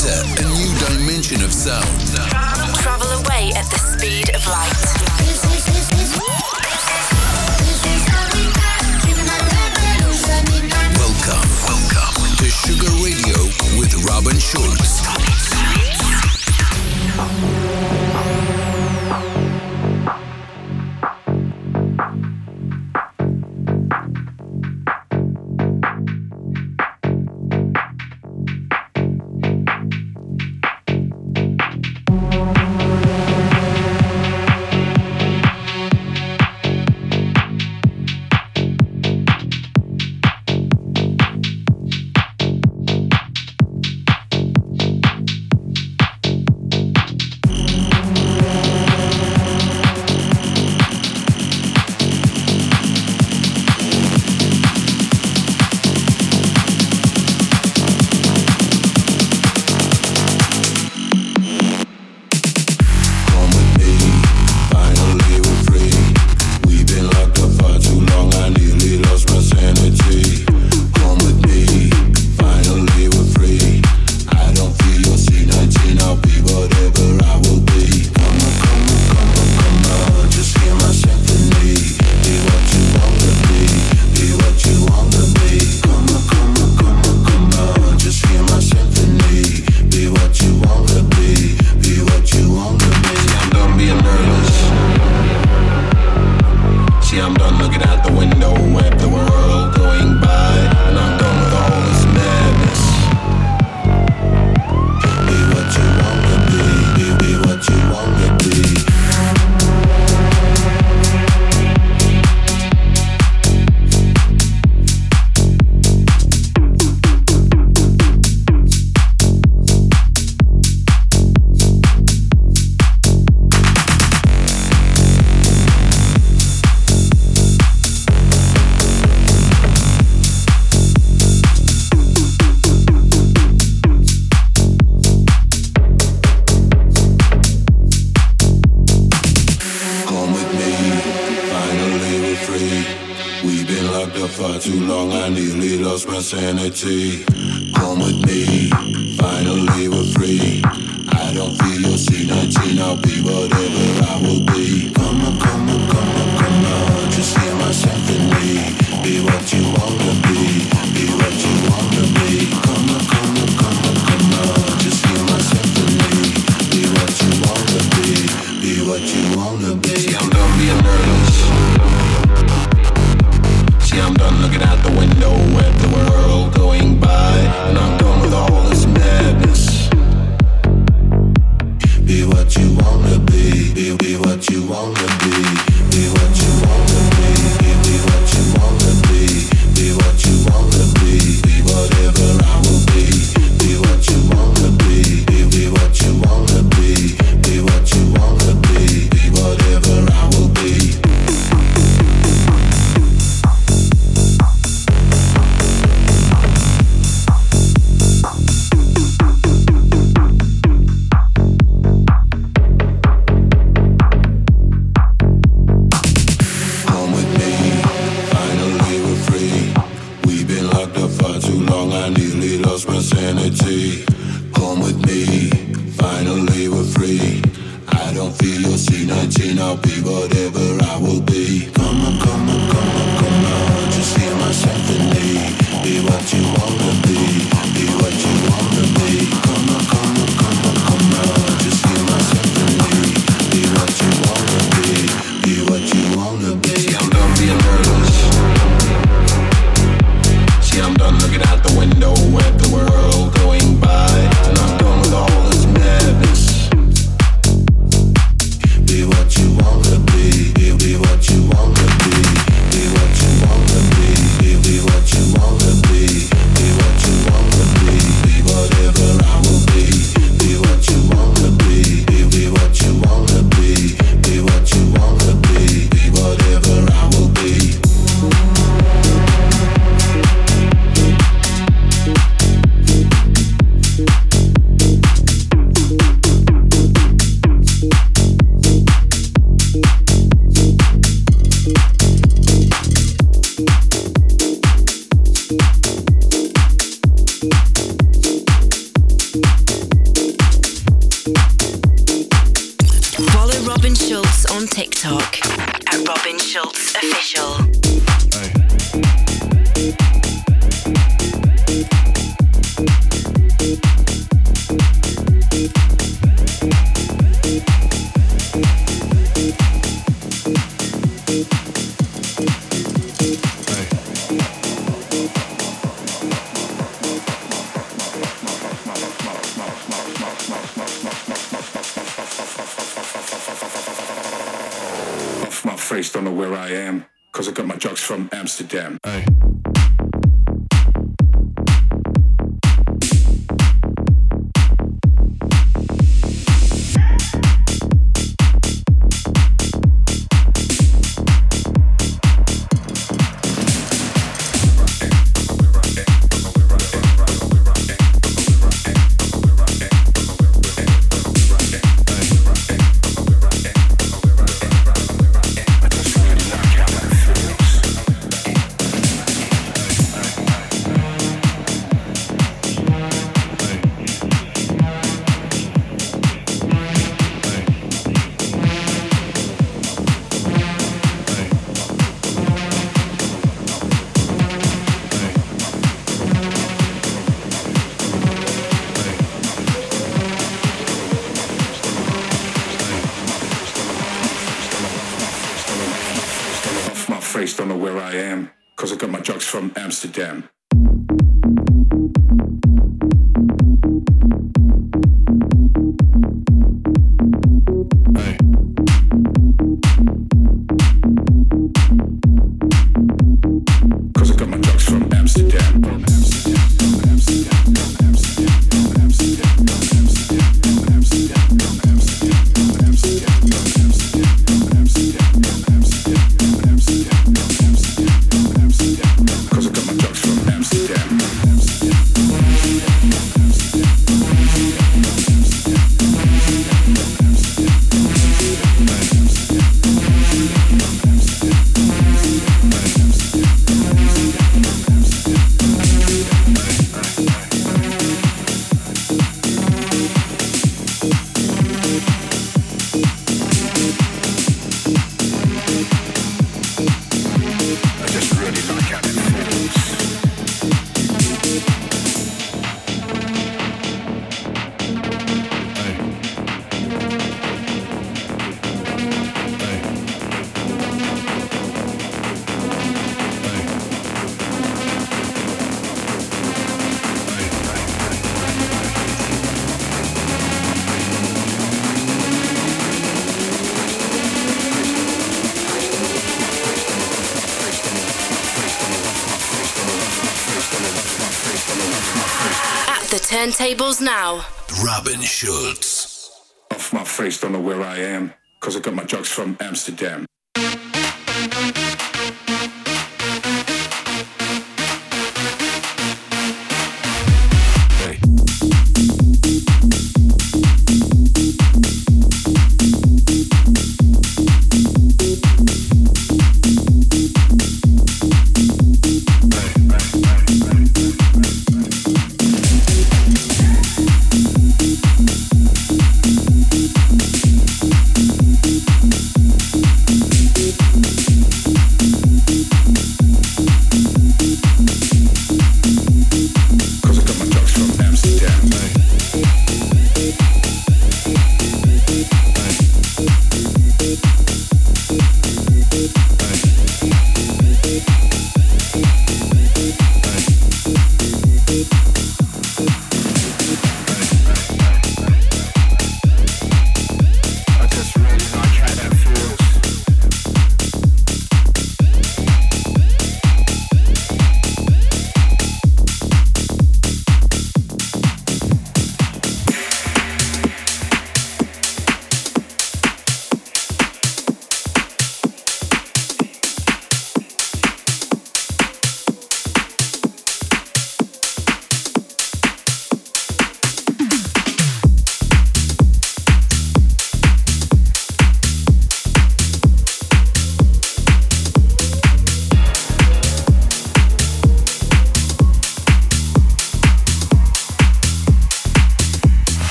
Enter a new dimension of sound. Travel away at the speed of light. Welcome to Sugar Radio with Robin Schulz. Sanity, come with me, finally we're free. I don't feel your C19, I'll be whatever I will be. Come on, come on, come on, come on, just hear my symphony. Be what you wanna be what you wanna be. Come on, come on, come on, come on, just hear my symphony. Be what you wanna be what you wanna be. See, I'm done being nervous. See, I'm done looking out the window at the world going by, and I'm done with all this madness. Be what you wanna be what you wanna be what you wanna be what you wanna be what you wanna be whatever I will be what you wanna be what you wanna be what you wanna be whatever I will be. Come with me, finally we're free. I don't feel your C19, I'll be whatever I will be. Come on, come on, come on, come on, just hear my symphony. Be what you wanna be what you wanna be. Come on, come on, come on, come on, just hear my symphony. Be what you wanna be what you wanna be. See, I'm done being nervous. See, I'm done looking out the window at the world going by, and I'm done with all this madness. Be what you wanna be TikTok at Robin Schulz Official. Face, don't know where I am, cause I got my drugs from Amsterdam. Ay. Don't know where I am, cause I got my drugs from Amsterdam. Turntables now. Robin Schulz. Off my face, don't know where I am, cause I got my drugs from Amsterdam.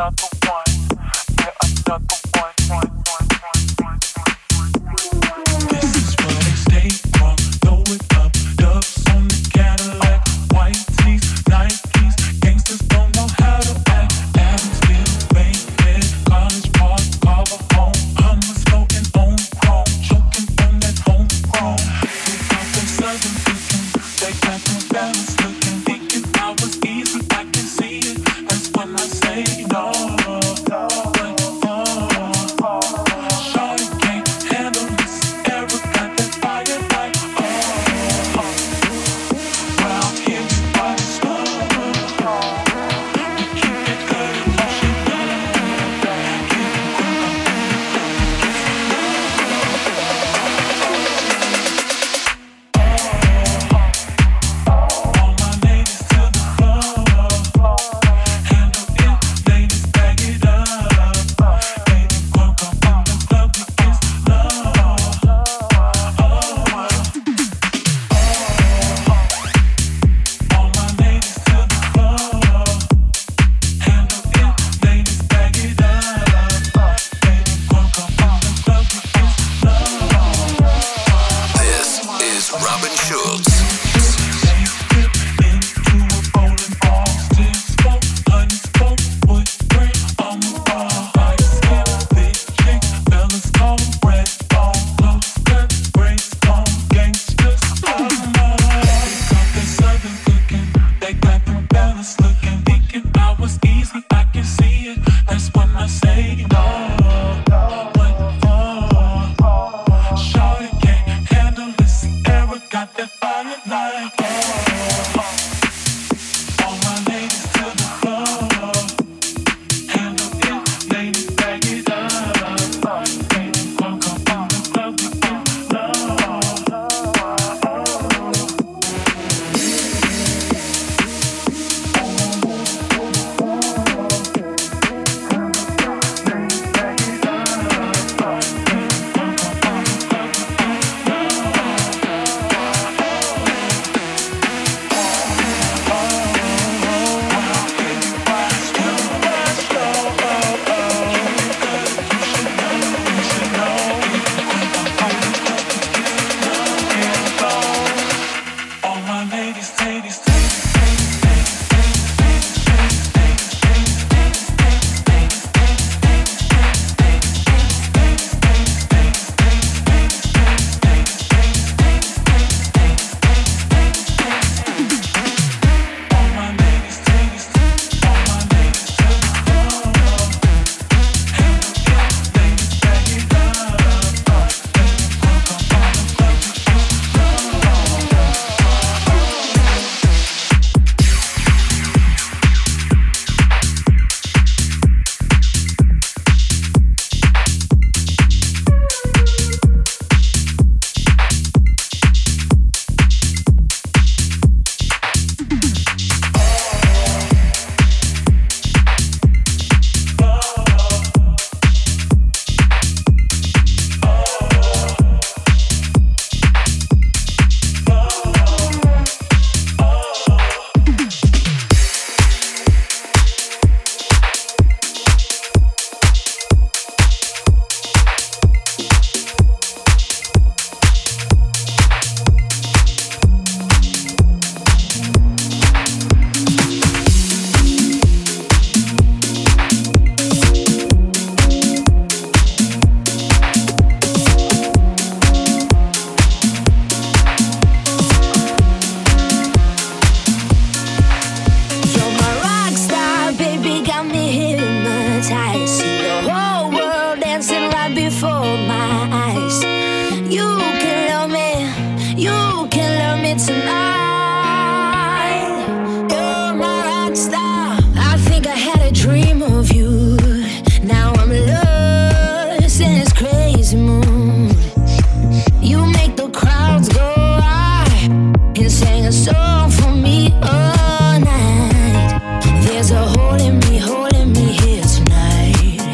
Holding me here tonight.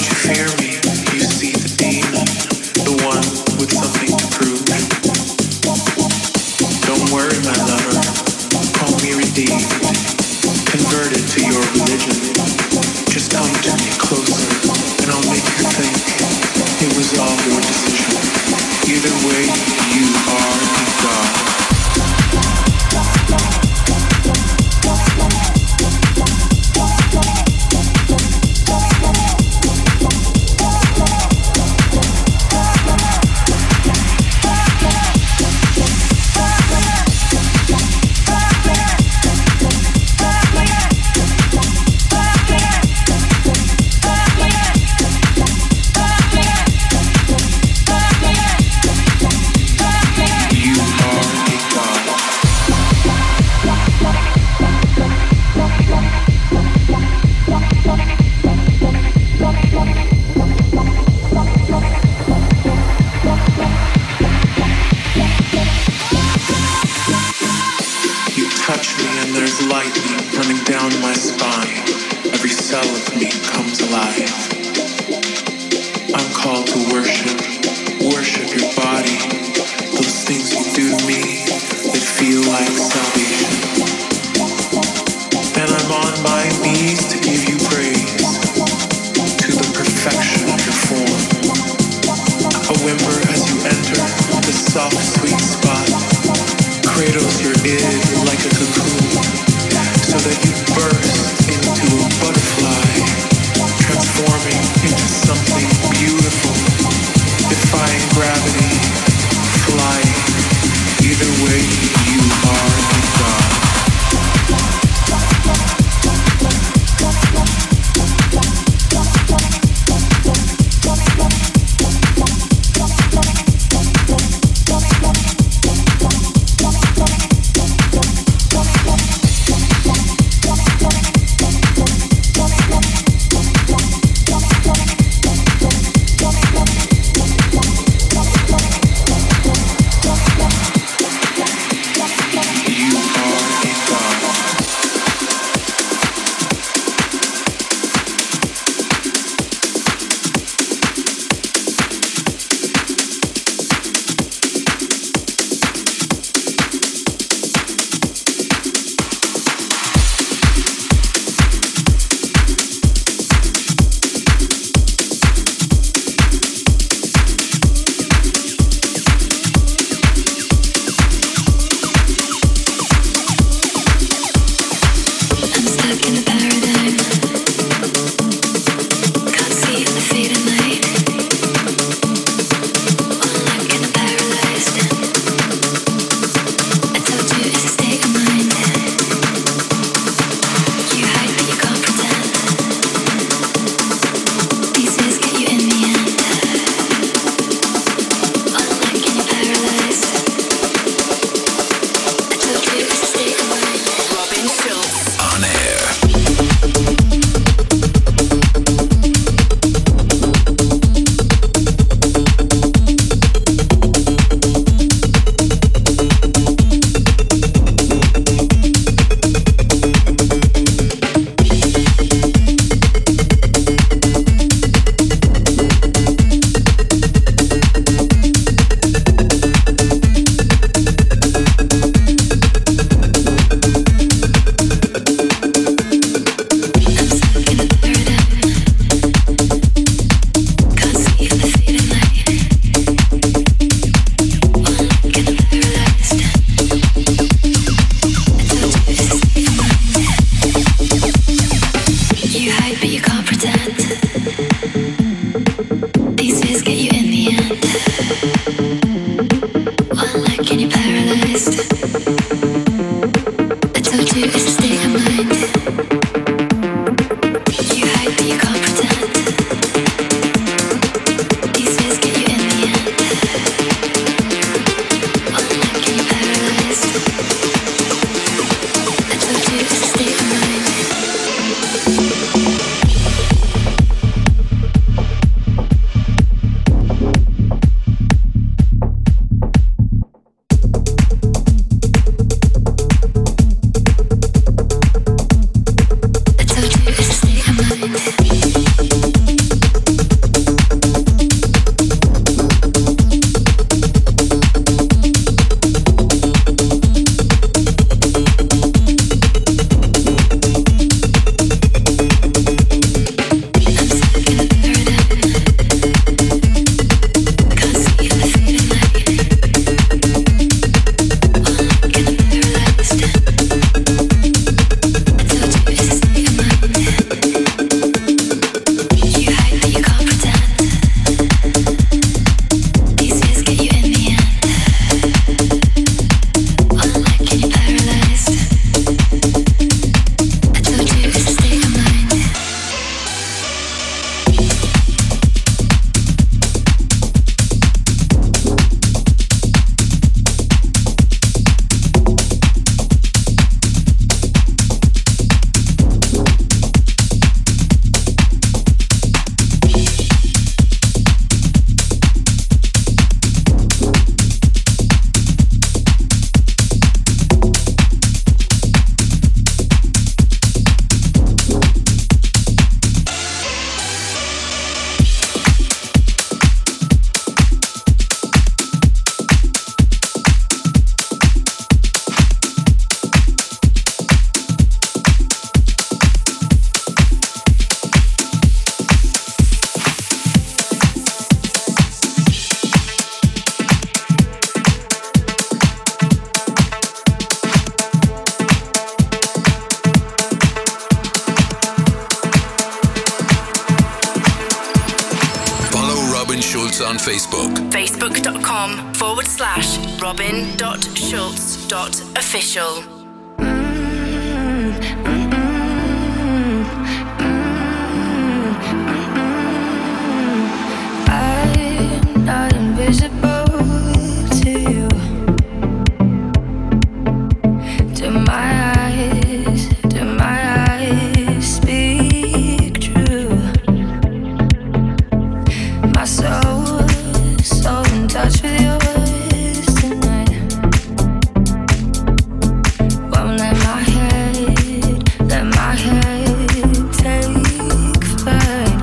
Transforming into something beautiful. Schulz on Facebook. Facebook.com/robin.schulz.official. I'm not invisible to you. Do my eyes speak true? My soul's so in touch with yours tonight. Won't let my head take flight.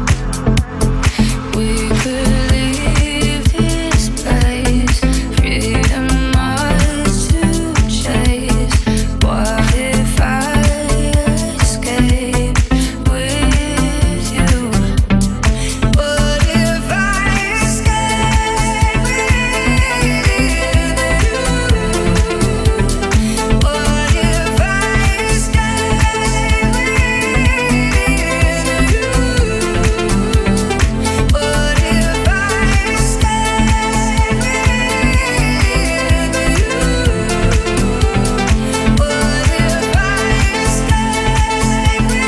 We could leave this place, freedom ours to chase. What if I escape with you? What if I escape with you? What if I escape with you? What if I escape with you? What if I escape with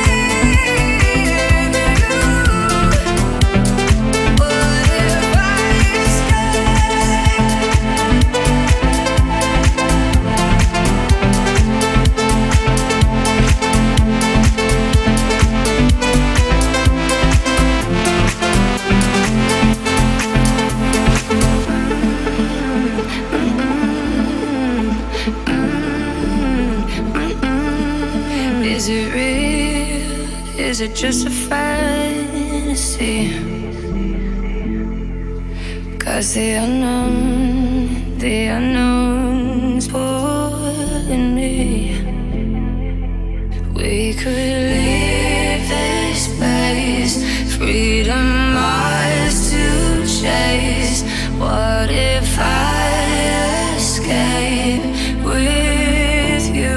Is it real? Is it just a fantasy? 'Cause the unknown's pulling me. We could leave this place, freedom ours to chase. What if I escape with you?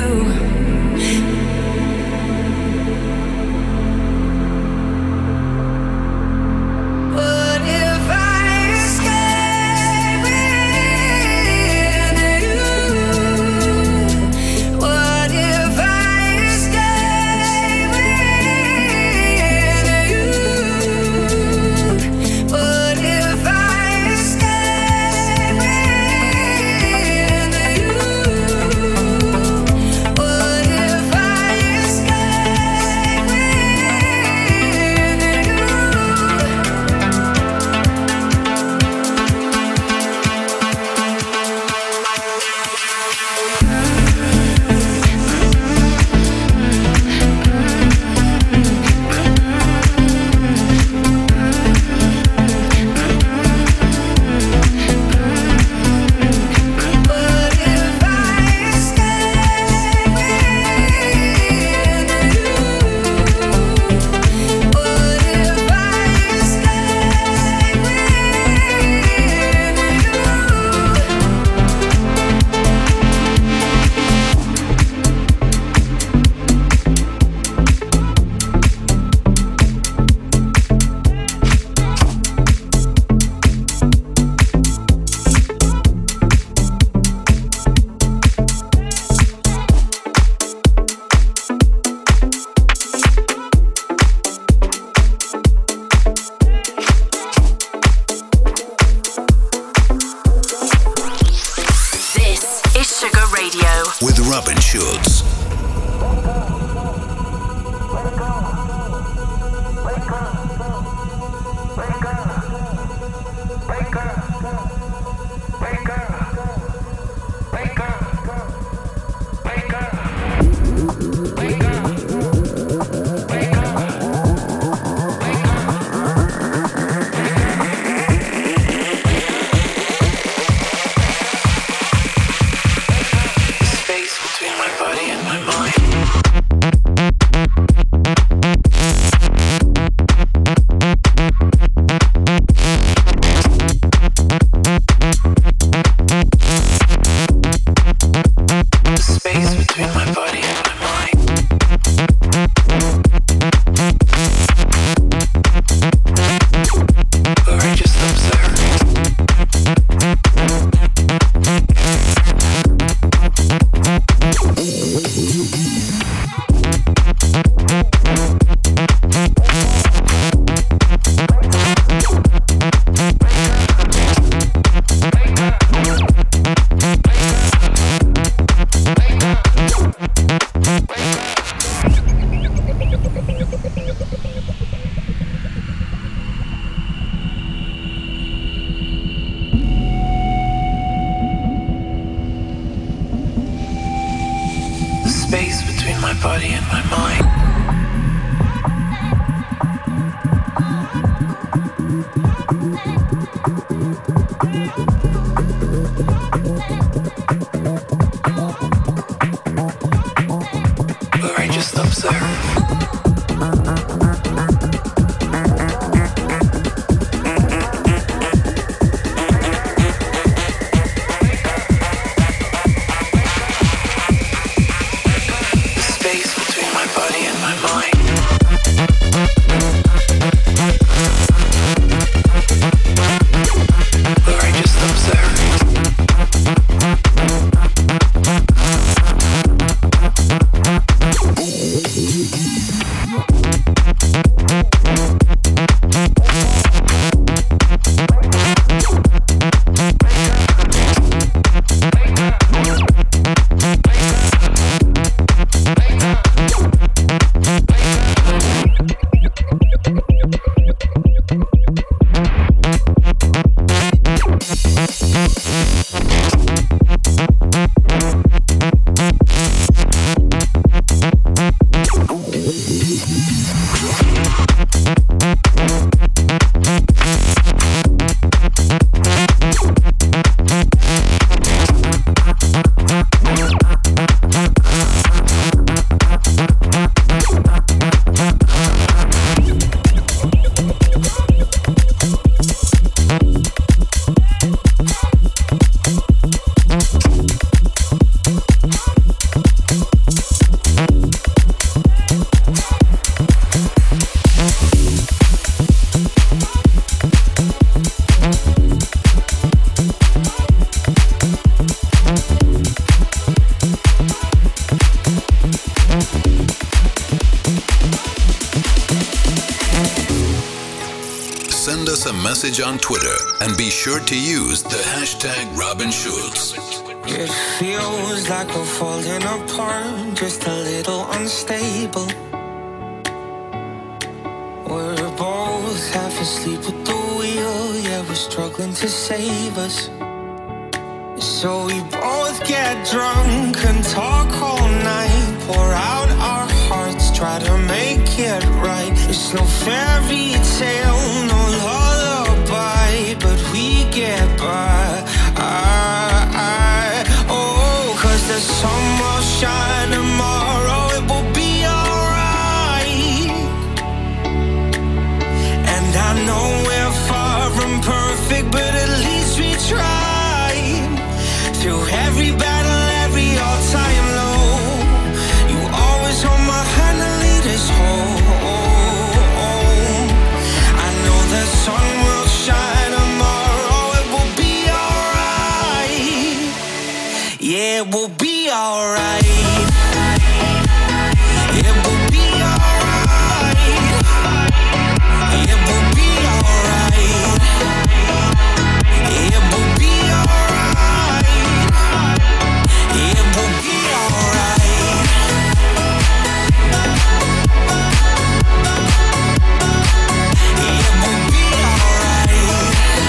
What if I escape with you? What if I escape with you? What if I escape with you? What if I escape with With Robin Schulz. Between my body and body and my mind. Where I just observe. On Twitter and be sure to use the hashtag Robin Schulz. It feels like we're falling apart, just a little unstable. We're both half asleep at the wheel, yeah, we're struggling to save us. So we both get drunk and talk all night, pour out our hearts, try to make it right. It's no fairy tale, no lullaby, but we get by. Oh, 'cause the sun will shine tomorrow, it will be alright. And I know we're far from perfect, but at least we tried. Through every battle, every all-time low, you always hold my hand and lead us home. I know the sun will shine tomorrow, it will be alright. Yeah, it will be alright. It will be alright. It will be alright. It will be alright. It will be alright. It will be alright.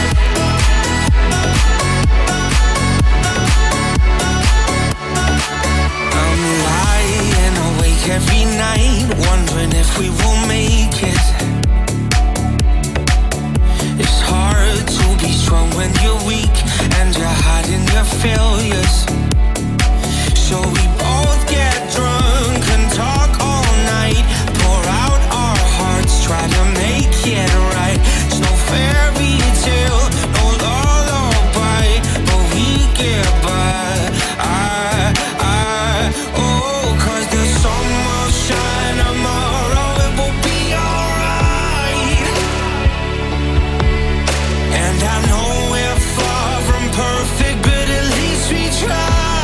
I'm lying awake every night, wondering if we will make it. It's hard to be strong when you're weak and you're hiding your failures. So we both get drunk and talk all night, pour out our hearts, try to make it right. It's no fairy tale, no lullaby, but we get by. Oh, 'cause the sun will shine tomorrow, it will be alright. And I know we're far from perfect, but at least we try.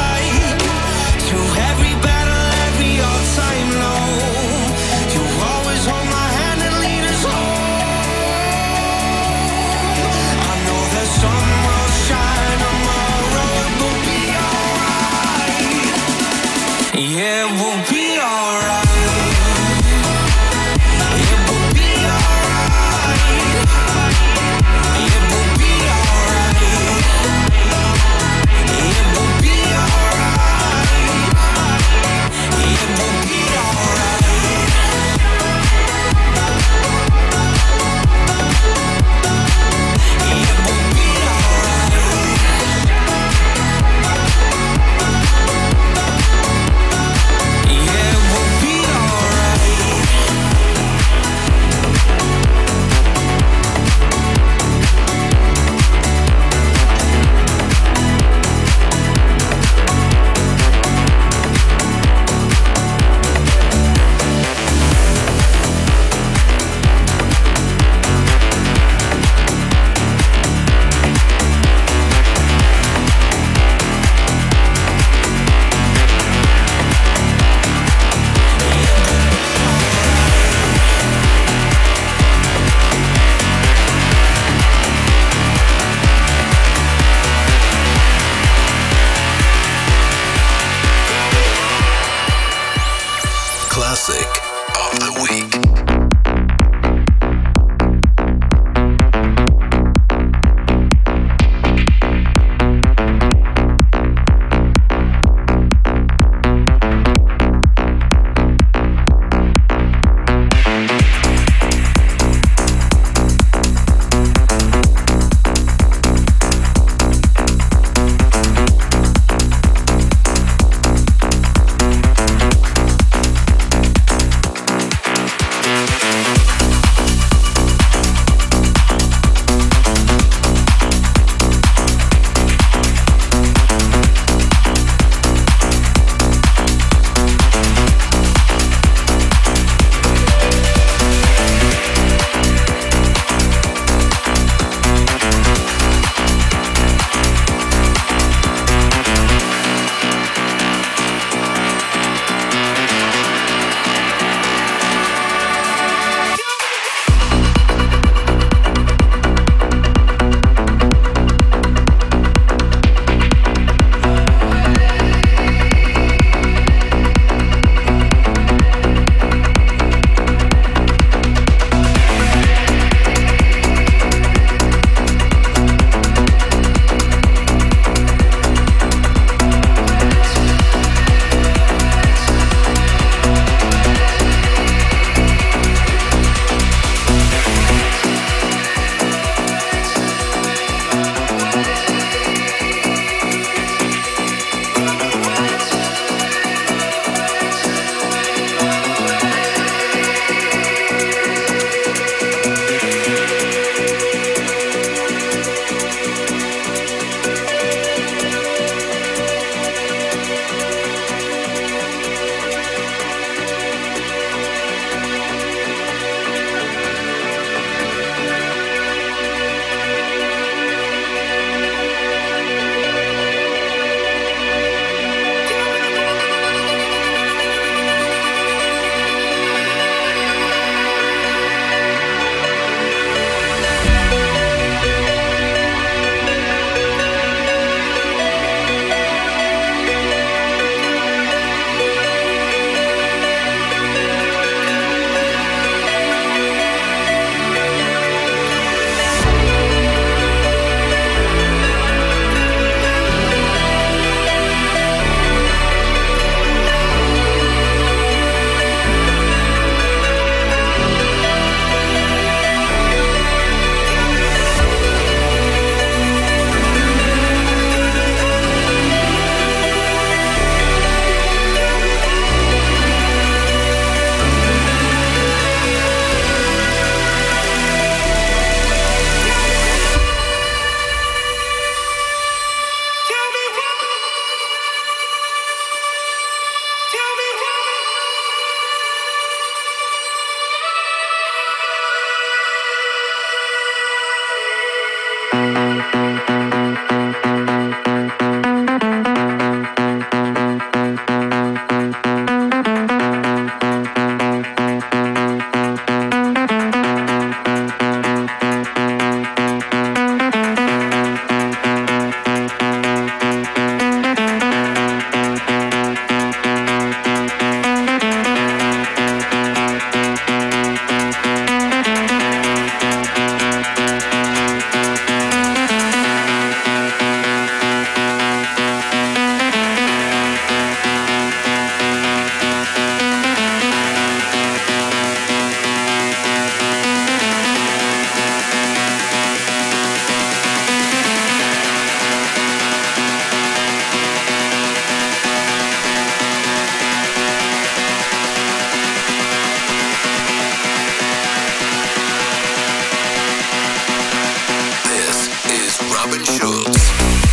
Robin Schulz.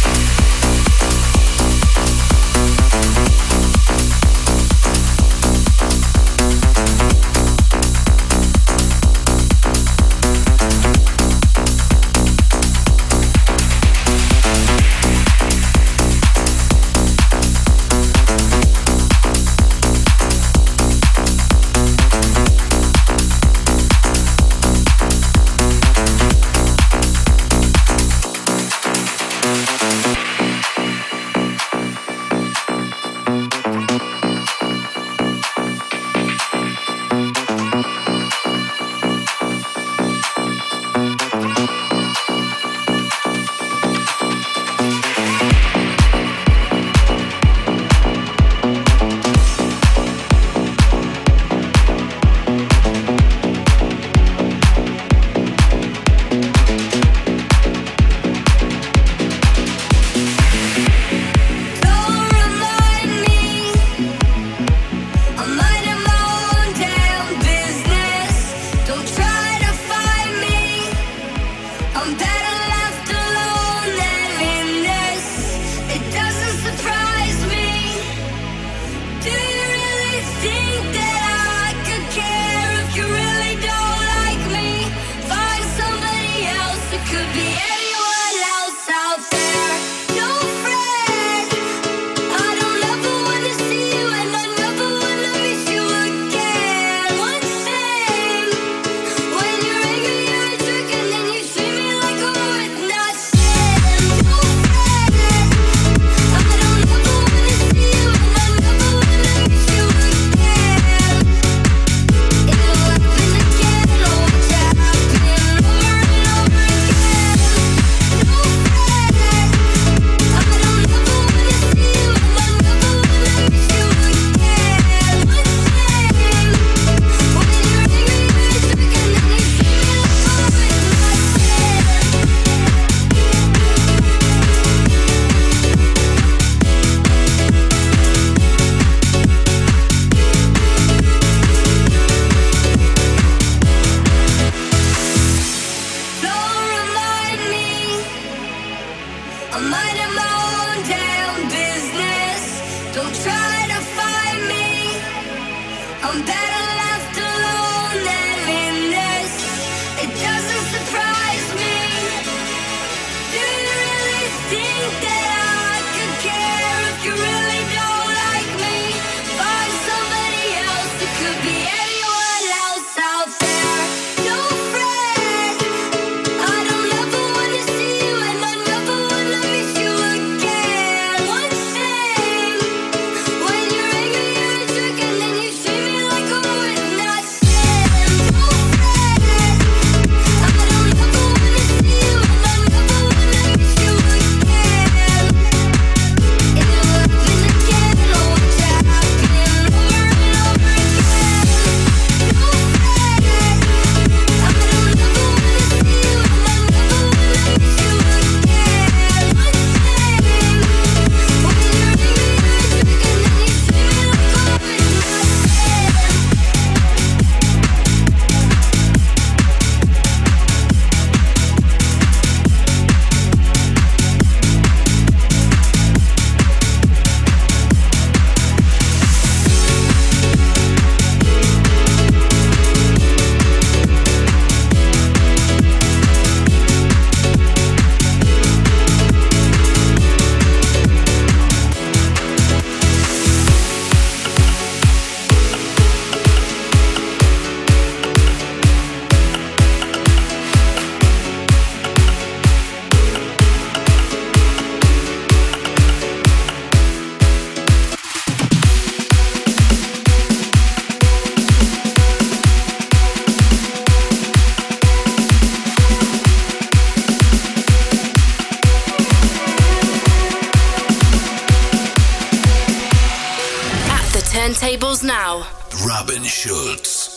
Turntables now. Robin Schulz.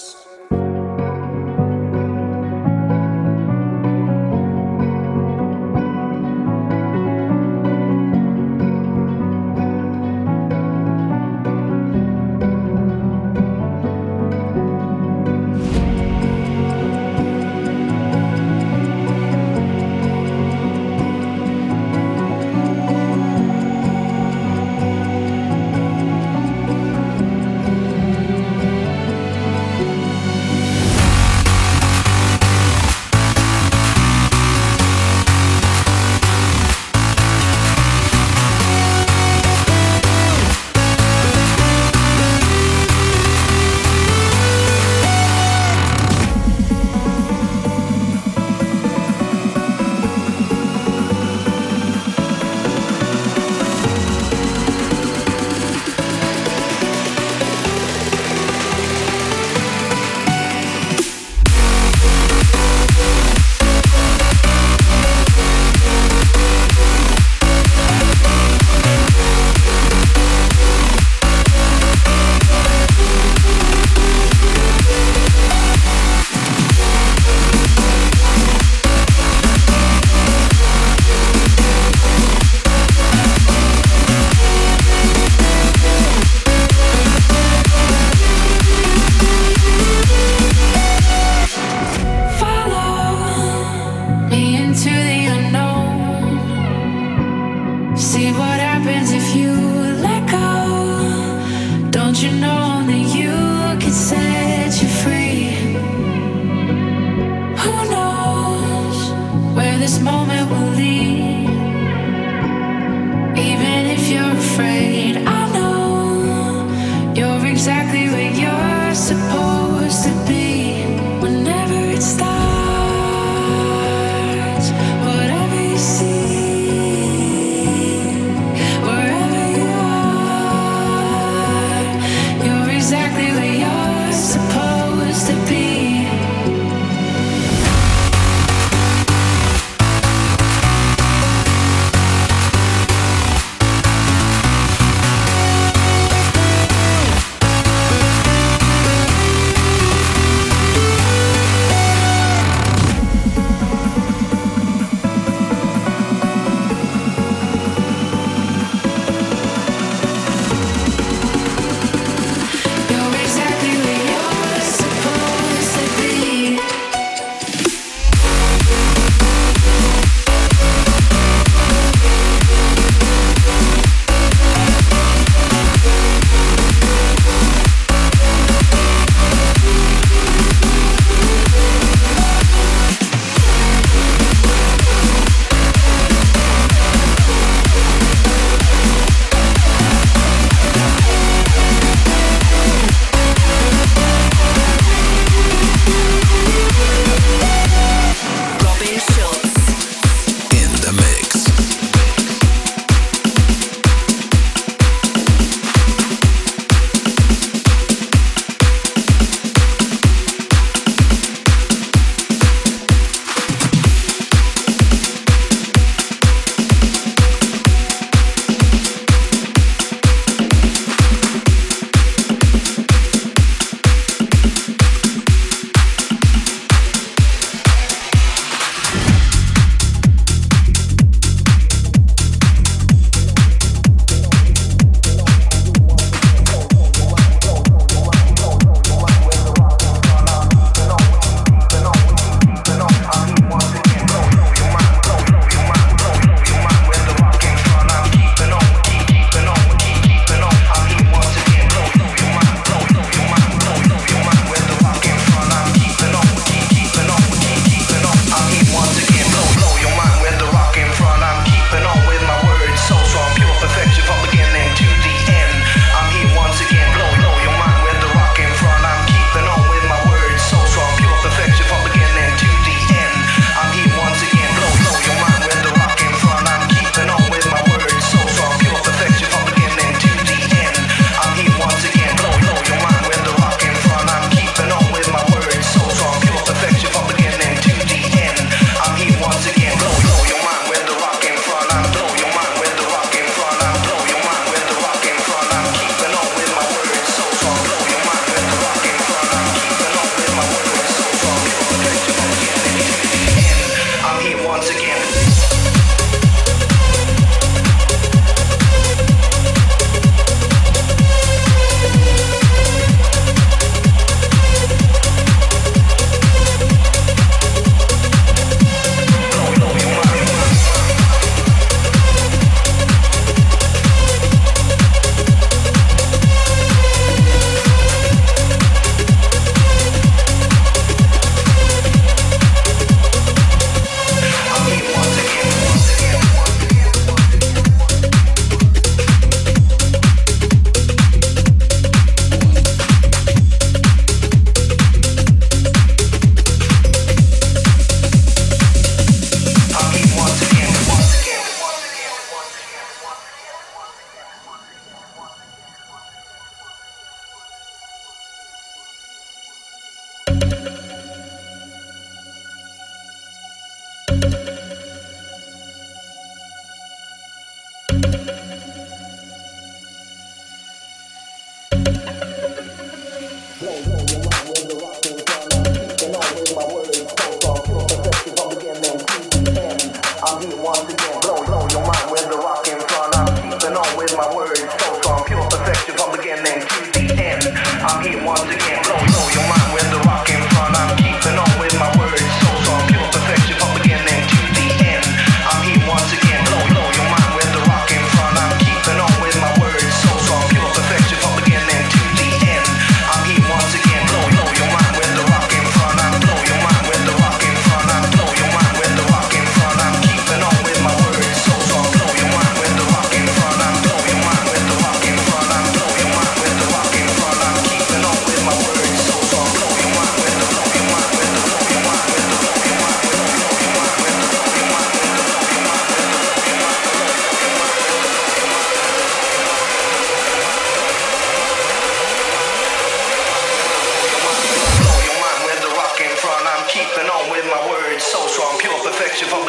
Keeping on with my words, so from pure perfection from beginning to the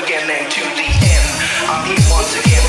again and to the end. I'm here once again.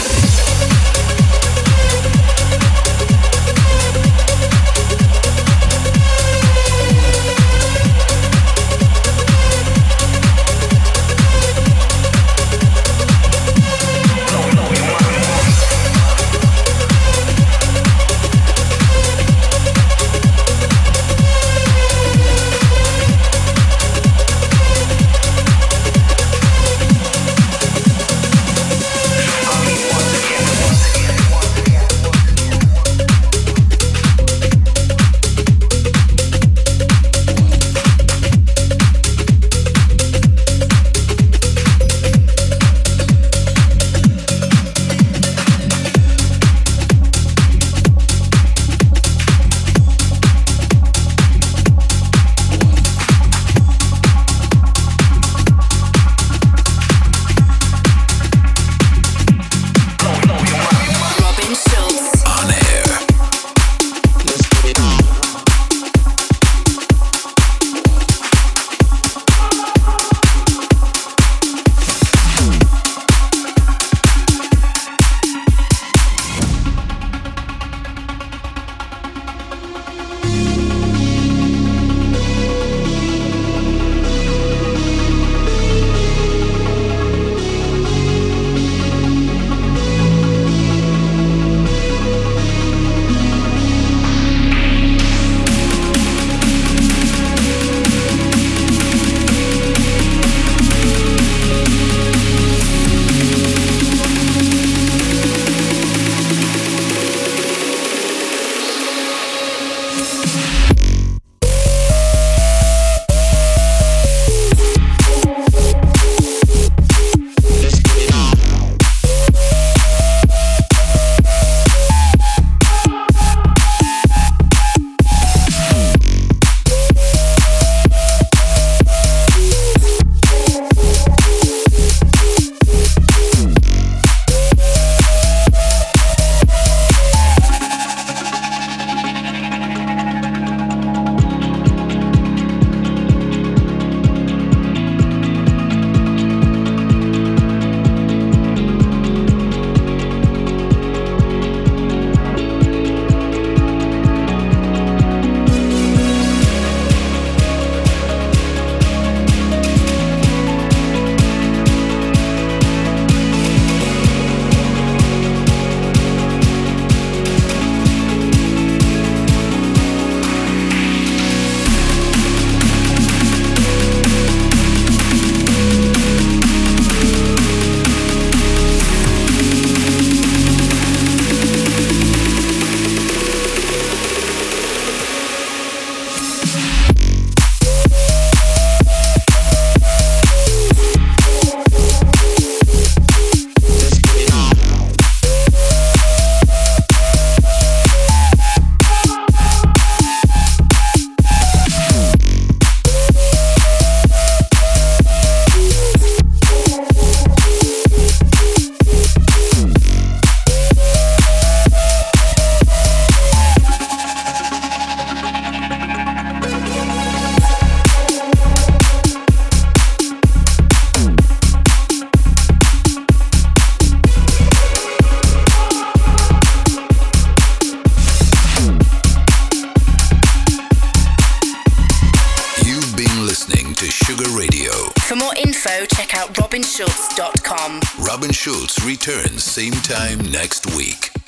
Check out robinschulz.com. Robin Schulz returns same time next week.